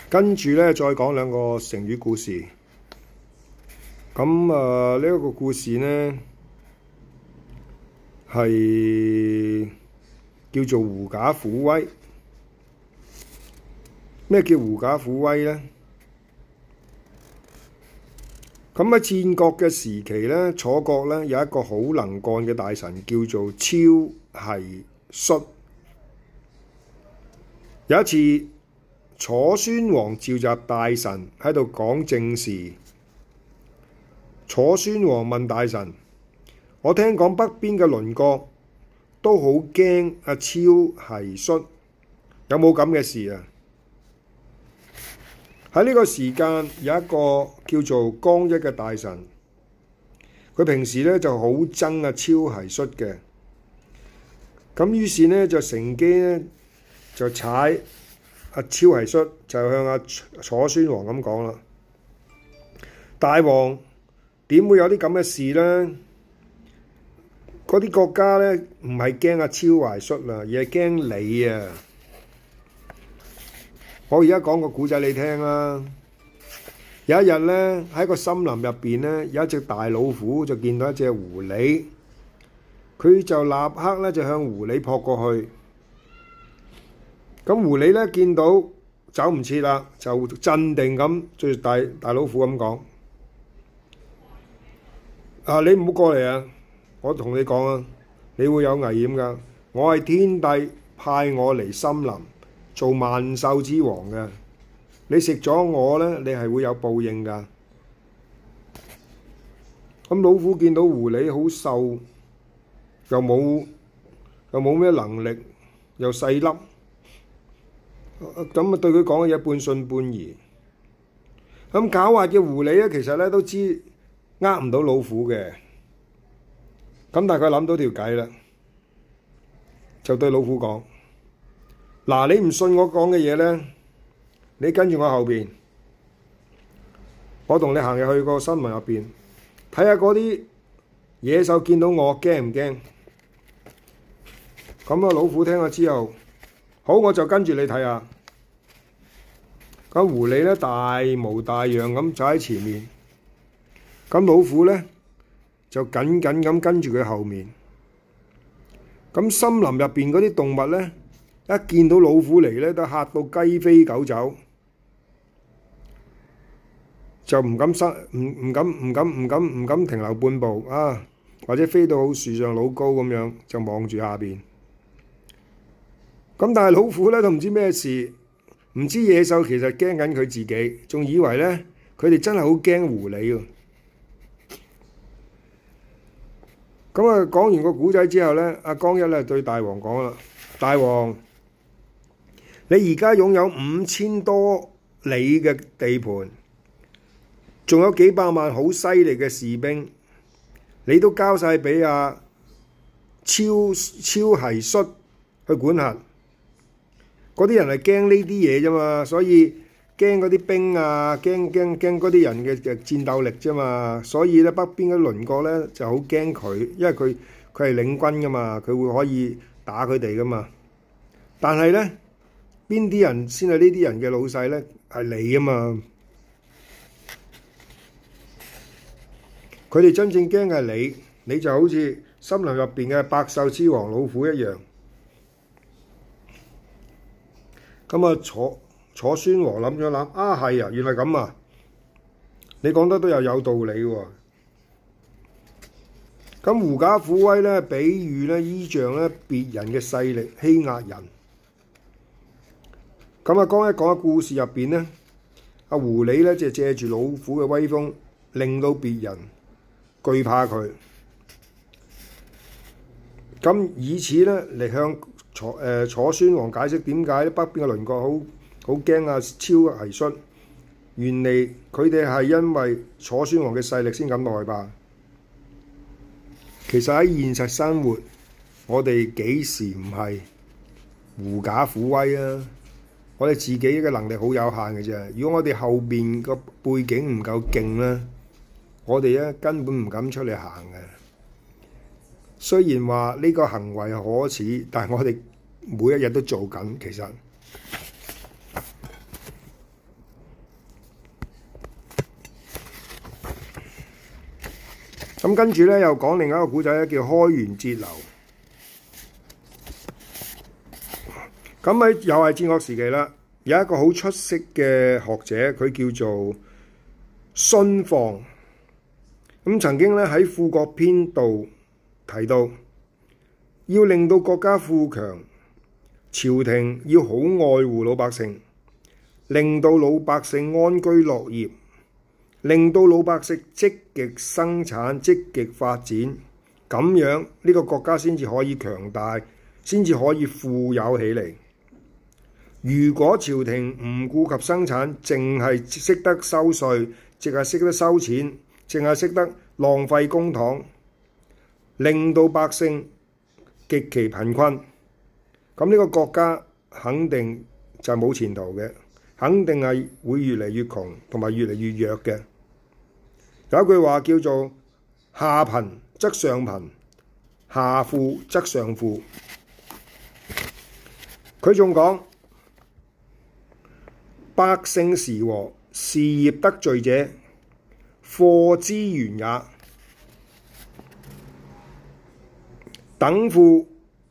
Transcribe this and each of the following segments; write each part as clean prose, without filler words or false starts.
跟住咧，再講兩個成語故事。咁呢一個故事呢，係叫做狐假虎威。咩叫狐假虎威呢？咁喺戰國嘅時期咧，楚國咧有一個好能幹嘅大臣叫做超奚戌。有一次，楚宣王召集大臣喺度講政事。楚宣王問大臣：我聽講北邊嘅鄰國都好驚阿超奚戌，有冇咁嘅事啊？喺呢個時間有一個叫做江一嘅大臣，佢平時咧就好憎阿超奚戌嘅，咁於是呢，就乘機咧就踩阿超奚戌，就向阿楚宣王咁講啦：大王，點會有啲咁嘅事呢？嗰啲國家咧唔係驚阿超奚戌啦，而係驚你啊！我而家講個古仔你聽啦。有一日咧，喺個森林入邊咧，有一隻大老虎就見到一隻狐狸，佢就立刻咧就向狐狸撲過去。咁狐狸咧見到走唔切啦，就鎮定咁對大老虎咁講：你唔好過嚟啊！我同你講啊，你會有危險㗎。我係天帝派我嚟森林做萬獸之王嘅，你食咗我咧，你係會有報應㗎。咁老虎見到狐狸好瘦，又冇咩能力，又細粒，咁啊對佢講嘅嘢半信半疑。咁狡猾嘅狐狸咧，其實咧都知呃唔到老虎嘅，咁但係佢諗到條計啦，就對老虎講：嗱，你唔信我講嘅嘢咧，你跟住我後邊，我同你行入去個森林入邊，睇下嗰啲野獸見到我驚唔驚？咁啊，老虎聽咗之後，好，我就跟住你睇下。咁狐狸咧大模大樣咁走喺前面，咁老虎咧就緊緊咁跟住佢後面。咁森林入邊嗰啲動物咧，一見到老虎嚟咧，都嚇到雞飛狗走，就唔敢停留半步啊，或者飛到好樹上老高咁樣，就望住下邊。咁但係老虎咧都唔知咩事，唔知野獸其實驚緊佢自己，仲以為咧佢哋真係好驚狐狸喎。咁啊，講完個古仔之後咧，阿江一咧對大王講啦：大王，你而家擁有5000多里嘅地盤，仲有幾百萬好犀利嘅士兵，你都交晒俾阿超奚戌去管轄。嗰啲人係驚呢啲嘢啫嘛，所以驚嗰啲兵啊，驚嗰啲人嘅戰鬥力啫嘛，所以咧北邊嘅鄰國咧就好驚佢，因為佢係領軍噶嘛，佢會可以打佢哋噶嘛。但係咧，邊啲人先係呢啲人嘅老細咧？係你啊嘛！佢哋真正驚嘅係你，你就好似森林入邊嘅百獸之王老虎一樣。咁啊，楚宣王諗咗諗，係啊，原來咁啊！你講得都有道理喎。咁狐假虎威咧，比喻咧依仗咧別人嘅勢力欺壓人。咁啊，講一講故事入邊咧，阿狐狸咧就借住老虎嘅威風，令到別人懼怕佢。咁以此咧嚟向楚宣王解釋點解北邊嘅鄰國好驚阿超奚戌，原嚟佢哋係因為楚宣王嘅勢力先咁害怕。其實喺現實生活，我哋幾時唔係狐假虎威啊？我哋自己嘅能力好有限嘅啫。如果我哋後邊個背景唔夠勁咧，我哋咧根本唔敢出嚟行嘅。雖然話呢個行為可恥，但係我哋每一日都做緊，其實。 咁跟住咧又講另一個古仔咧，叫開源節流。咁喺又係戰國時期啦，有一個好出色嘅學者，佢叫做荀放。咁曾經咧喺《富國篇》度提到，要令到國家富強，朝廷要好愛護老百姓，令到老百姓安居樂業，令到老百姓積極生產、積極發展，咁樣呢個國家先至可以強大，先至可以富有起嚟。如果朝廷唔顧及生產，淨係識得收稅，淨係識得收錢，淨係識得浪費公帑，令到百姓極其貧困，咁呢個國家肯定就冇前途嘅，肯定係會越嚟越窮同埋越嚟越弱嘅。有一句話叫做下貧則上貧，下富則上富。佢仲講，百姓時和，事業得序者，貨之源也。等富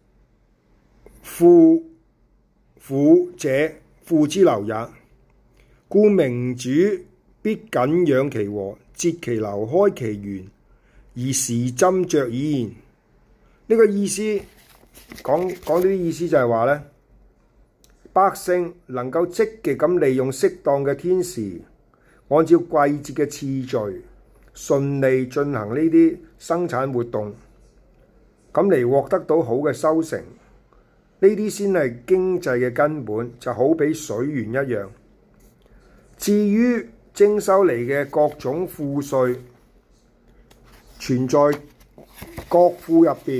婦者，富之流也。故明主必謹養其和，節其流，開其源，而時斟酌矣。呢個意思講呢啲意思就係話咧，百姓能夠積極咁利用適當嘅天時，按照季節嘅次序，順利進行呢啲生產活動，咁嚟獲得到好嘅收成，呢啲先係經濟嘅根本，就好比水源一樣。至於徵收嚟嘅各種賦稅，存在國庫入邊，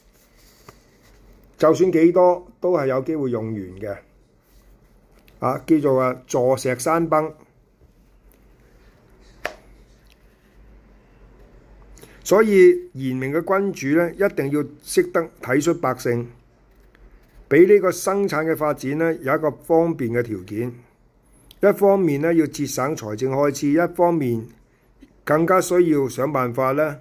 就算幾多都係有機會用完嘅。叫做坐石山崩。所以賢明嘅君主咧，一定要識得體恤百姓，俾呢個生產嘅發展咧有一個方便嘅條件。一方面咧要節省財政開支，一方面更加需要想辦法咧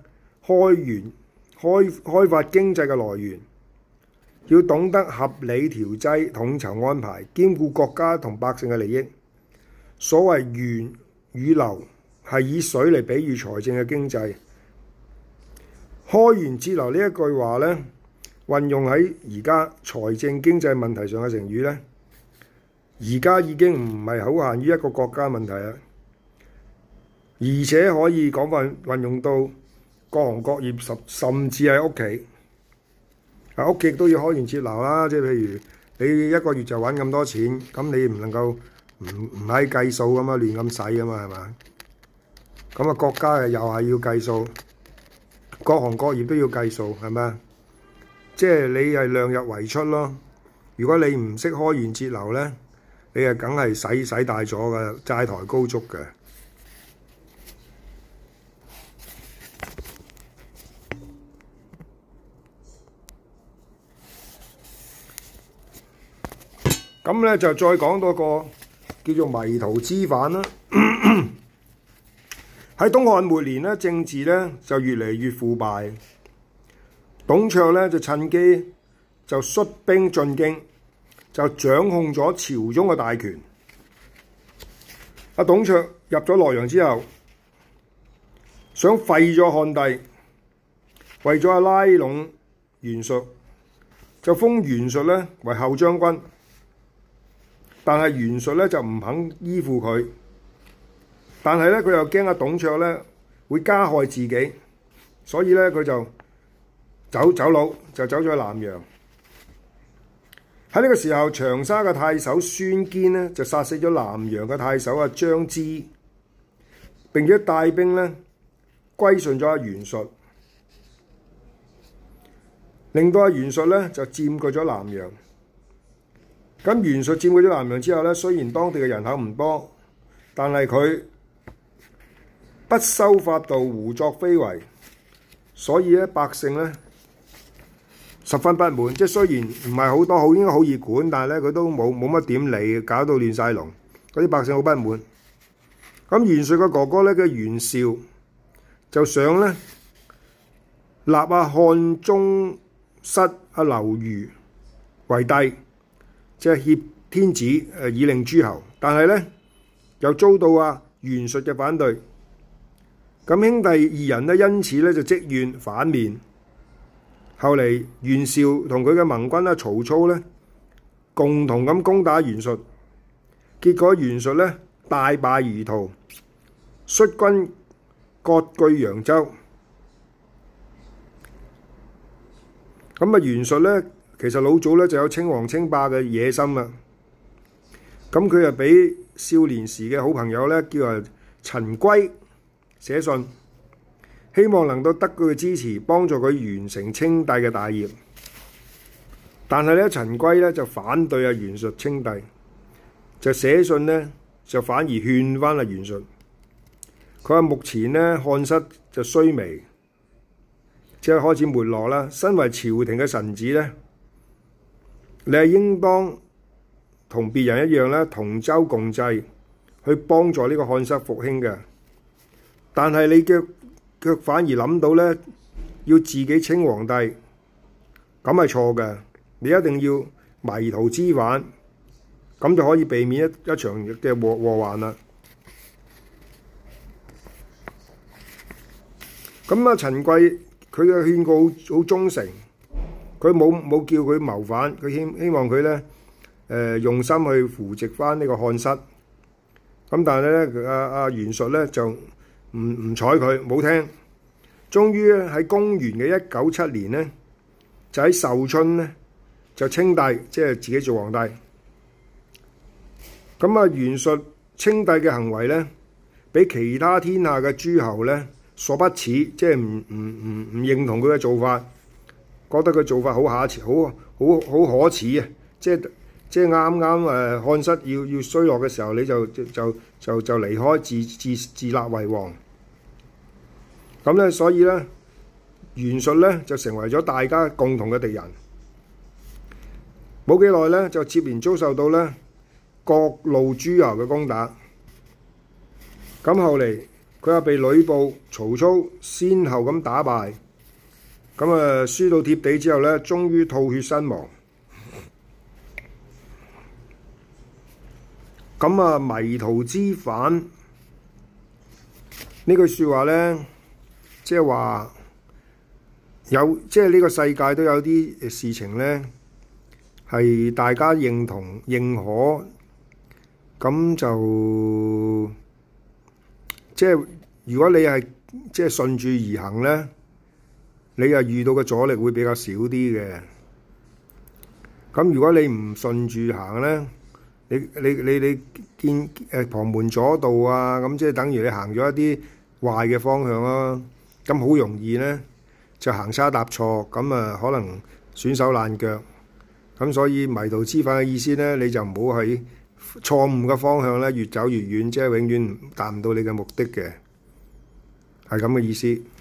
開發經濟嘅來源，要懂得合理調劑、統籌安排，兼顧國家同百姓嘅利益。所謂源與流，係以水嚟比喻財政嘅經濟。開源節流呢一句話咧，運用喺而家財政經濟問題上嘅成語咧，而家已經唔係好限於一個國家問題啦，而且可以講運用到各行各業，甚至係屋企。屋企都要開源節流啦，即係譬如你一個月就揾咁多錢，咁你唔能夠唔係計數咁嘛，亂咁使噶嘛，係嘛？咁國家又係要計數。各行各業都要計數，係咪啊？即係你係量入為出咯。如果你唔識開源節流咧，你係梗係使大咗嘅，債台高築嘅。咁咧就再講多個叫做迷途知返啦。喺東漢末年咧，政治咧就越嚟越腐敗。董卓咧就趁機就率兵進京，就掌控咗朝中嘅大權。董卓入咗洛陽之後，想廢咗漢帝，為咗拉攏袁術，就封袁術咧為後將軍。但係袁術咧就唔肯依附佢。但係咧，佢又驚董卓咧會加害自己，所以咧佢就走佬，就走咗去南陽。喺呢個時候，長沙嘅太守孫堅咧就殺死咗南陽嘅太守張芝，並且帶兵咧歸順咗袁術，令到袁術咧就佔據咗南陽。咁袁術佔據咗南陽之後咧，雖然當地嘅人口唔多，但係佢不修法度，胡作非為，所以咧百姓咧十分不滿。即係雖然唔係好多，應該好易管，但係咧佢都冇乜點理，搞到亂晒龍，嗰啲百姓好不滿。咁袁術嘅哥哥咧叫袁紹就想咧立漢宗室劉虞為帝，即係挾天子以令諸侯。但係咧又遭到袁術嘅反對。咁兄弟二人咧因此咧就積怨反面。後嚟袁紹同佢嘅盟軍曹操咧共同咁攻打袁術，結果袁術咧大敗而逃，率軍割據揚州。咁袁術咧其實老早咧就有稱王稱霸嘅野心啦。咁佢就俾少年時嘅好朋友咧叫做陳規寫信，希望能夠得佢嘅支持，幫助佢完成稱帝嘅大業。但係咧，陳規咧就反對袁術稱帝，就寫信咧就反而勸翻袁術。佢話目前咧漢室就衰微，即係開始沒落啦。身為朝廷嘅臣子咧，你係應當同別人一樣咧同舟共濟，去幫助呢個漢室復興嘅。但係你卻反而諗到咧，要自己稱皇帝，咁係錯嘅。你一定要迷途知返，咁就可以避免一場嘅禍患啦。咁陳規佢嘅勸告好忠誠，佢冇叫佢謀反，佢希望佢咧用心去扶植翻呢個漢室。咁但係咧袁術咧就唔睬佢，冇聽。終於喺公元嘅197年咧，就喺壽春咧就稱帝，即係自己做皇帝。咁袁術稱帝嘅行為咧，俾其他天下嘅諸侯咧所不齒，即係唔認同佢嘅做法，覺得佢做法好可恥啊！即係啱啱漢室要衰落嘅時候，你就離開自立為王。咁咧，所以咧，袁術咧就成為咗大家共同嘅敵人。冇幾耐咧，就接連遭受到咧各路諸侯嘅攻打。咁後嚟佢又被呂布、曹操先後咁打敗，咁輸到貼地之後咧，終於吐血身亡。咁迷途知返呢句説話咧，即係話即係呢個世界都有啲事情咧，係大家認同認可，咁就即係如果你係即係順住而行咧，你又遇到嘅阻力會比較少啲嘅。咁如果你唔順住行咧，你見旁門左道啊，咁即係等於你行咗一啲壞嘅方向啦。咁好容易咧就行差踏錯，咁可能損手爛腳。咁所以迷途知返嘅意思咧，你就唔好喺錯誤嘅方向咧越走越遠，即係永遠達唔到你嘅目的嘅，係咁嘅意思。